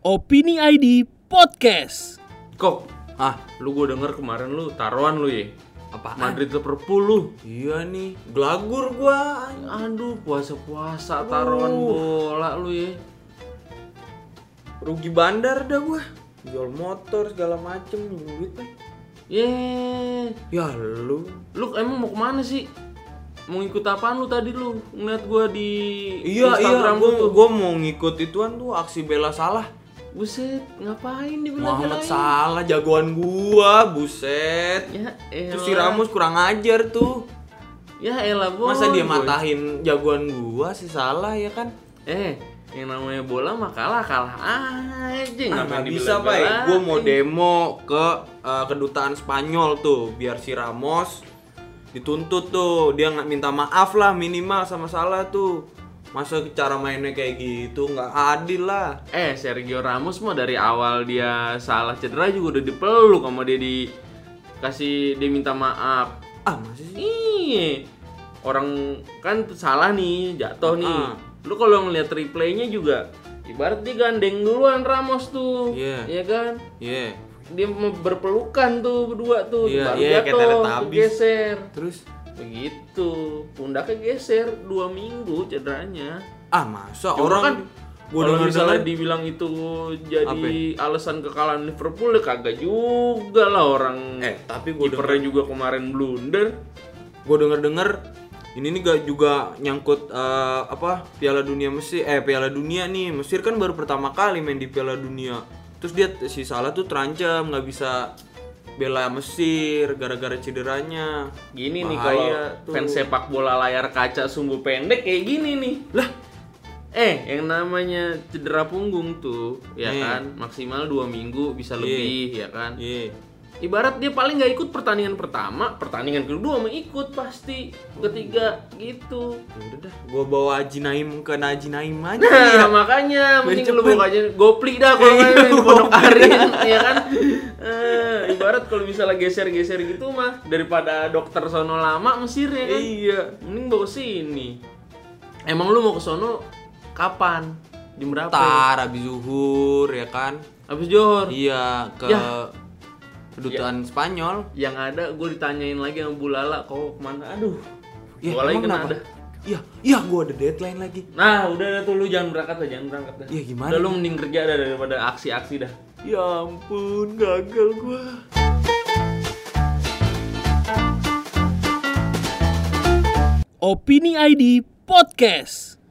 Opini ID Podcast. Kok, lu gue denger kemarin lu taruhan lu ya? Apaan? Madrid Liverpool lu. Iya nih, gelagur gua. Aduh, puasa-puasa taruhan bola lu ya. Rugi bandar dah gua. Jual motor segala macem, duit nih. Ya lu Emang mau kemana sih? Mau ngikut apaan lu tadi lu? Ngeliat gua di Iya, Instagram lu tuh. gua mau ngikut ituan tuh aksi bela Salah. Buset, ngapain dibela-belain? Muhammad Salah jagoan gua, buset. Ya elah. Terus si Ramos kurang ajar tuh. Ya elah boy. Masa dia matahin jagoan gua si Salah ya kan? Yang namanya bola mah kalah aja. Nggak bisa Pak, gue mau demo ke kedutaan Spanyol tuh biar si Ramos dituntut tuh, dia nggak minta maaf lah minimal sama Salah tuh. Masa cara mainnya kayak gitu nggak adil lah. Sergio Ramos mah dari awal dia salah cedera juga udah dipeluk sama dia, dia minta maaf. Masih sih? Iya, orang kan salah nih, jatuh nih. Lu kalau ngeliat replaynya juga ibarat dia gandeng duluan Ramos tuh. Iya kan? Iya. Dia berpelukan tuh berdua tuh, baru kayak jatuh, Teletubbies. geser. Terus Begitu, pundaknya geser 2 minggu cederanya. masa Cuma orang kan gua kalau misalnya denger dibilang itu jadi alasan kekalahan Liverpool, ya kagak juga lah orang. Tapi gua kipernya juga kemarin blunder. gue denger ini nih gak juga nyangkut Piala Dunia Mesir, Piala Dunia nih, Mesir kan baru pertama kali main di Piala Dunia. Terus dia si Salah tuh terancam nggak bisa bela Mesir gara-gara cederanya. Gini nih Bahaya kalau tuh. fans sepak bola layar kaca sumbu pendek kayak gini nih. Lah, yang namanya cedera punggung tuh, ya kan, maksimal 2 minggu bisa lebih, ya kan. Ibarat dia paling nggak ikut pertandingan pertama, pertandingan kedua mau ikut pasti, ketiga gitu. Udah dah, gua bawa Haji Naim ke Haji Naim aja. Nah, makanya mending lu bawa aja Gopli dah kalau main di Pondok Aren, ya kan. Ibarat kalau misalnya geser-geser gitu mah daripada dokter sono lama Mesir ya kan. Iya, Mending bawa sini. Emang lu mau ke sono kapan? Jam berapa? tar abis zuhur ya kan. Habis Johor. Iya, ke kedutaan Spanyol. Yang ada gue ditanyain lagi sama Bu Lala, kok kemana? Aduh. Ya, Gua lagi emang kena kenapa? ada. Iya, gua ada deadline lagi. Nah, udah tuh lu jangan berangkat dah. Ya, gimana Udah lu nih? mending kerja dah daripada aksi-aksi dah. Ya ampun, gagal gua. Opini ID Podcast.